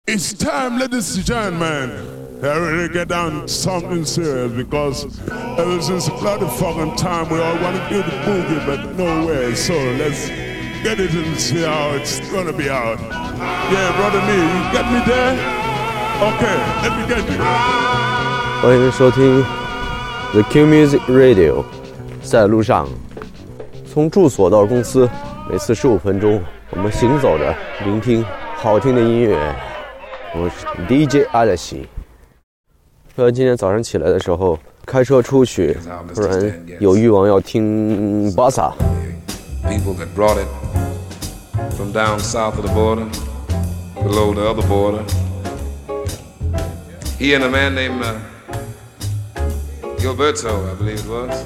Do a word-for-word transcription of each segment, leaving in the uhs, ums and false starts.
It's time, ladies and gentlemen, to really get down to something serious because ever since bloody fucking time we all want to do the boogie, but no way. So let's get it and see how it's gonna be out. Yeah, brother me, you get me there? Okay, let me get you. 欢迎收听 The Q Music Radio， 在路上，从住所到公司，每次十五分钟，我们行走着，聆听好听的音乐。我是 D J 阿德西。突然今天早上起来的时候，开车出去，突然有欲望要听巴萨。 People that brought it from down south of the border, below the other border. He and a man named uh, Gilberto, I believe it was.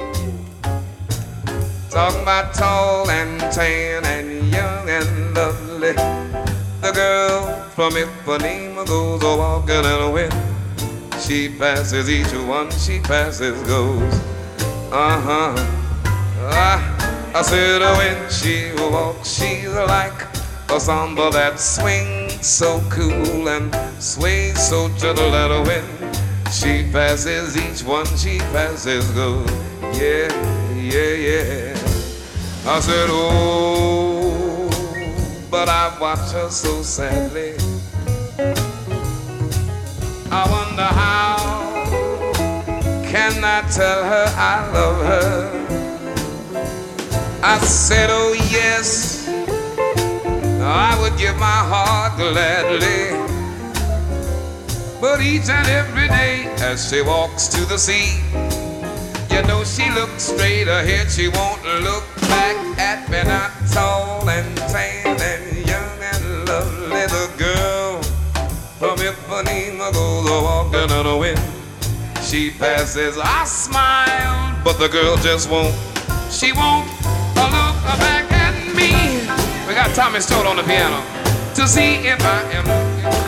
Talking about tall and tan and young and lovely. The girl from Ipanema goes a walking in a wind. She passes each one, she passes goes. Uh-huh. I, I said when she walks, she's like a samba that swings so cool and sways so gentle at a wind. She passes each one, she passes goes. Yeah, yeah, yeah. I said, oh, but I watch her so sadly. I wonder how can I tell her I love her. I said, oh yes, I would give my heart gladly. But each and every day as she walks to the sea, you know she looks straight ahead, she won't look back at me. Not tall and tan and young and lovely, the girl from Ipanema goes a walking on the wind. She passes, I smile, but the girl just won't. She won't look back at me. We got Tommy Stoll on the piano to see if I am looking.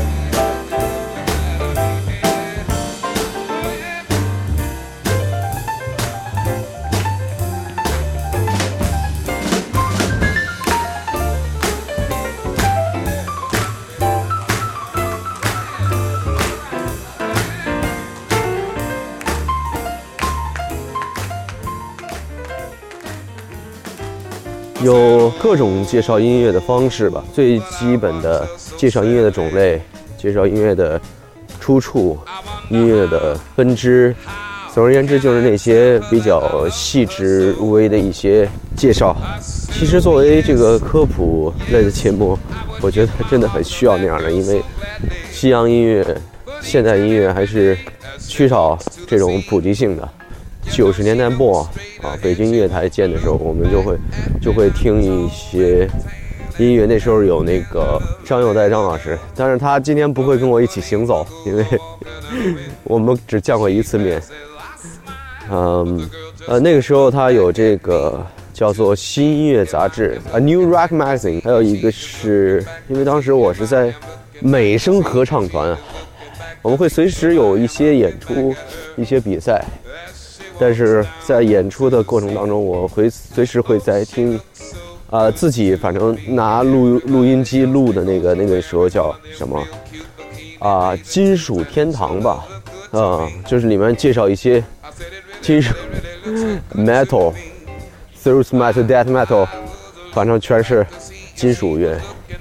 有各种介绍音乐的方式吧，最基本的介绍音乐的种类，介绍音乐的出处，音乐的分支，总而言之就是那些比较细致入微的一些介绍。其实作为这个科普类的节目，我觉得真的很需要那样的，因为西洋音乐、现代音乐还是缺少这种普及性的。九十年代末啊，北京音乐台建的时候，我们就会就会听一些音乐。那时候有那个张友代张老师，但是他今天不会跟我一起行走，因为我们只见过一次面。嗯，呃，那个时候他有这个叫做新音乐杂志 A New Rock Magazine， 还有一个是因为当时我是在美声合唱团，我们会随时有一些演出、一些比赛。但是在演出的过程当中，我会随时会在听，呃，自己反正拿录录音机录的那个那个时候叫什么啊、呃，金属天堂吧，啊、呃，就是里面介绍一些金属 metal、thrash metal、death metal， 反正全是金属乐，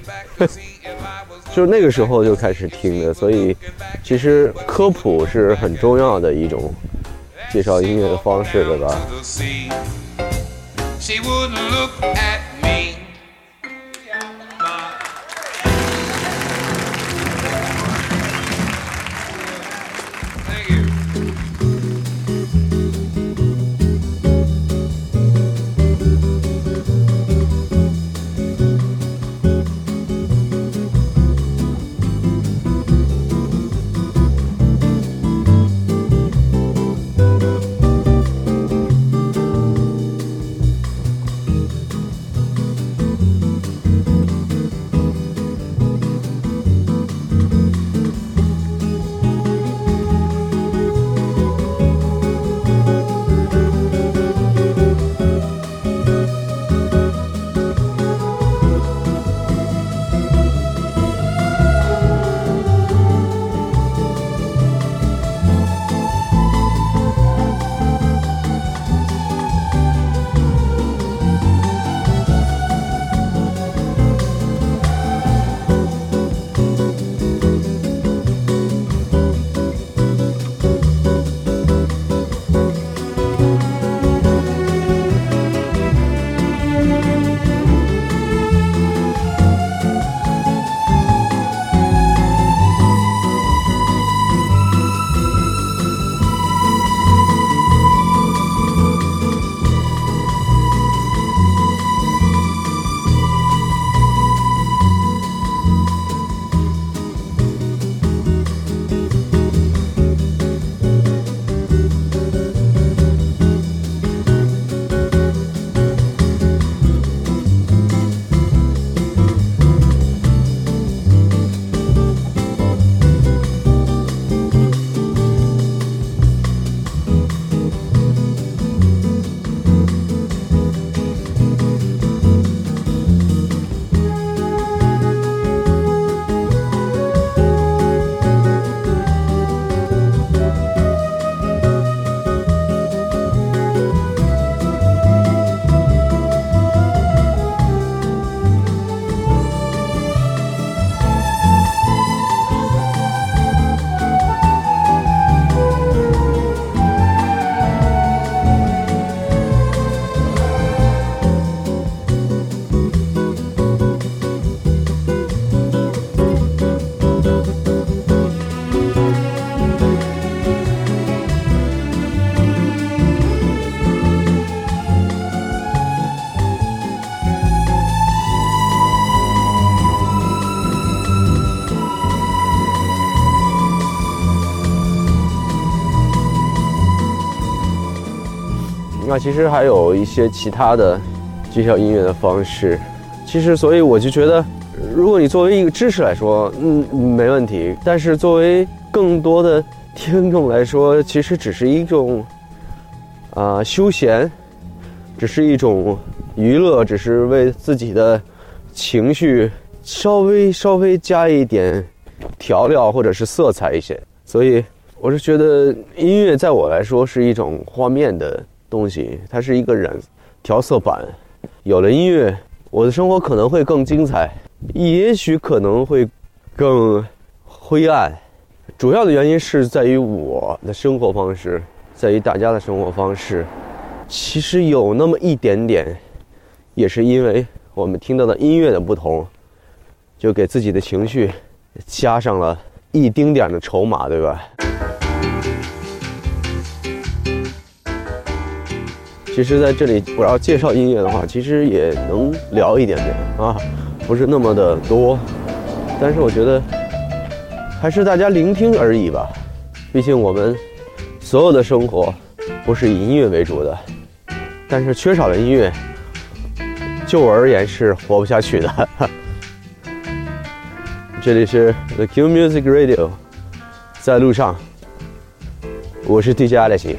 就是那个时候就开始听的，所以其实科普是很重要的一种介绍音乐的方式，对吧？ 那其实还有一些其他的介绍音乐的方式。其实，所以我就觉得，如果你作为一个知识来说，嗯，没问题。但是作为更多的听众来说，其实只是一种啊、呃、休闲，只是一种娱乐，只是为自己的情绪稍微稍微加一点调料或者是色彩一些。所以我是觉得音乐在我来说是一种画面的东西，它是一个染调色板。有了音乐，我的生活可能会更精彩，也许可能会更灰暗。主要的原因是在于我的生活方式，在于大家的生活方式。其实有那么一点点，也是因为我们听到的音乐的不同，就给自己的情绪加上了一丁点的筹码，对吧？其实在这里我要介绍音乐的话，其实也能聊一点点啊，不是那么的多，但是我觉得还是大家聆听而已吧。毕竟我们所有的生活不是以音乐为主的，但是缺少了音乐，就我而言是活不下去的。这里是 The Q Music Radio， 在路上，我是 D J Alex。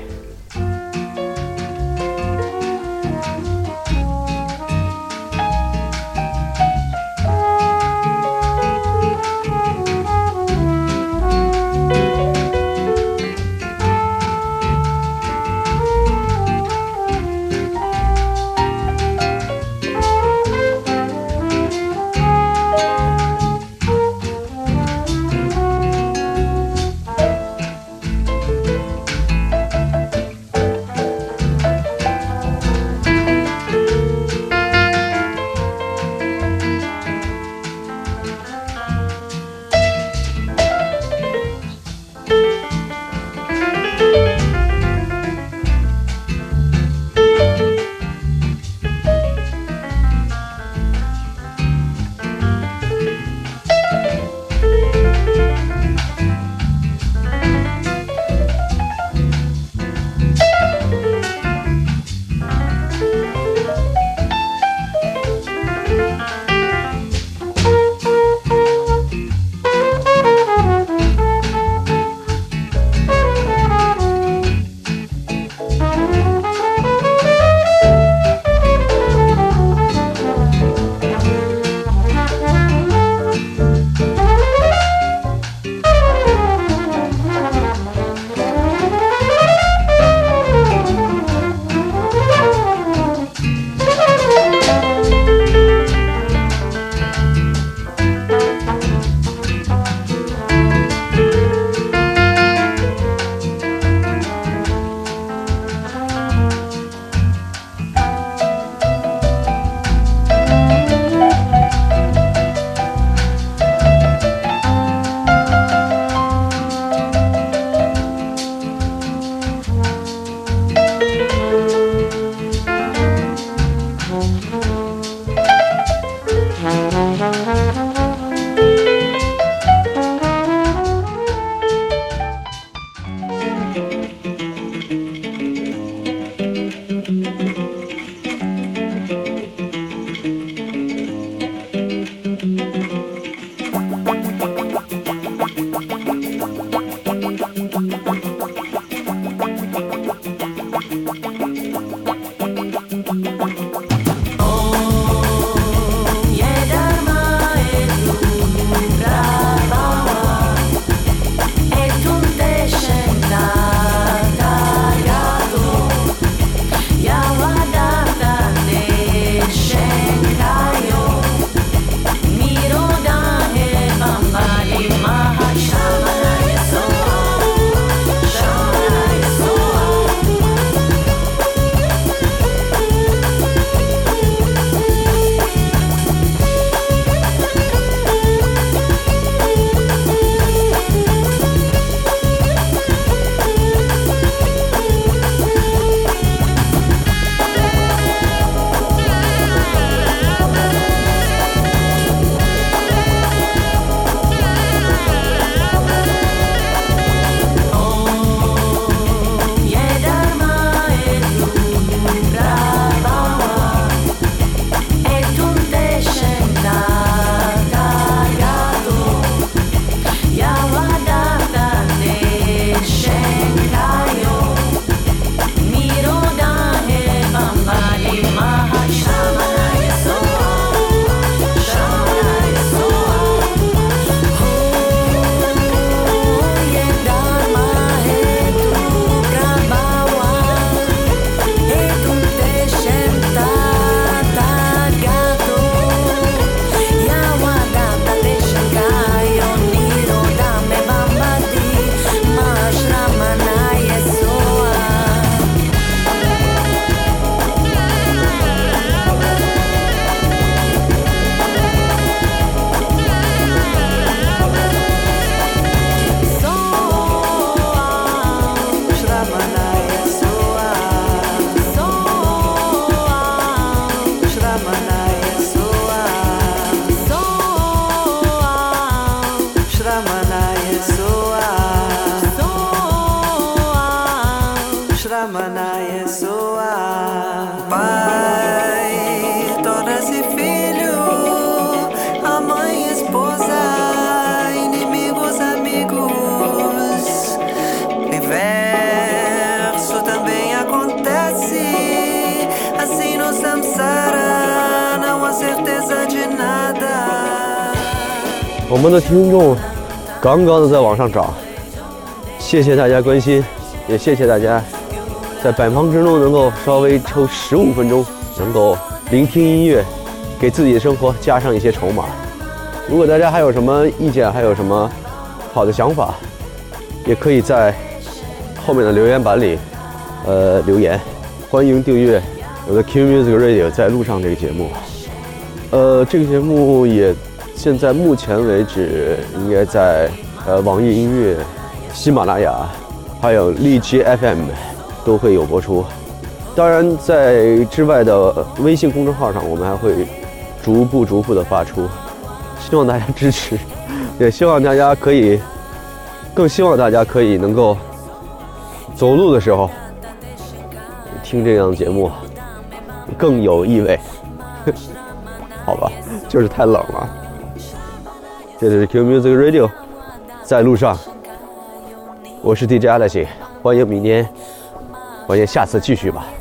我们的听众刚刚的在往上涨，谢谢大家关心，也谢谢大家在百忙之中能够稍微抽十五分钟，能够聆听音乐，给自己的生活加上一些筹码。如果大家还有什么意见，还有什么好的想法，也可以在后面的留言板里，呃，留言。欢迎订阅我的 Q Music Radio 在路上这个节目。呃，这个节目也现在目前为止应该在呃网易音乐、喜马拉雅，还有荔枝 F M 都会有播出。当然，在之外的微信公众号上，我们还会逐步逐步的发出。希望大家支持，也希望大家可以，更希望大家可以能够走路的时候听这样的节目，更有意味。好吧，就是太冷了。这里是 Q Music Radio， 在路上，我是 D J Alex， 欢迎明天，欢迎下次继续吧。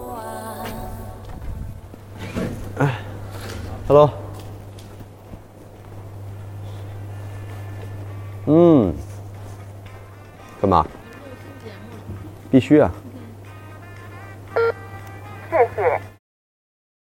哎 ，Hello。嗯，干嘛？必须啊！ 谢谢。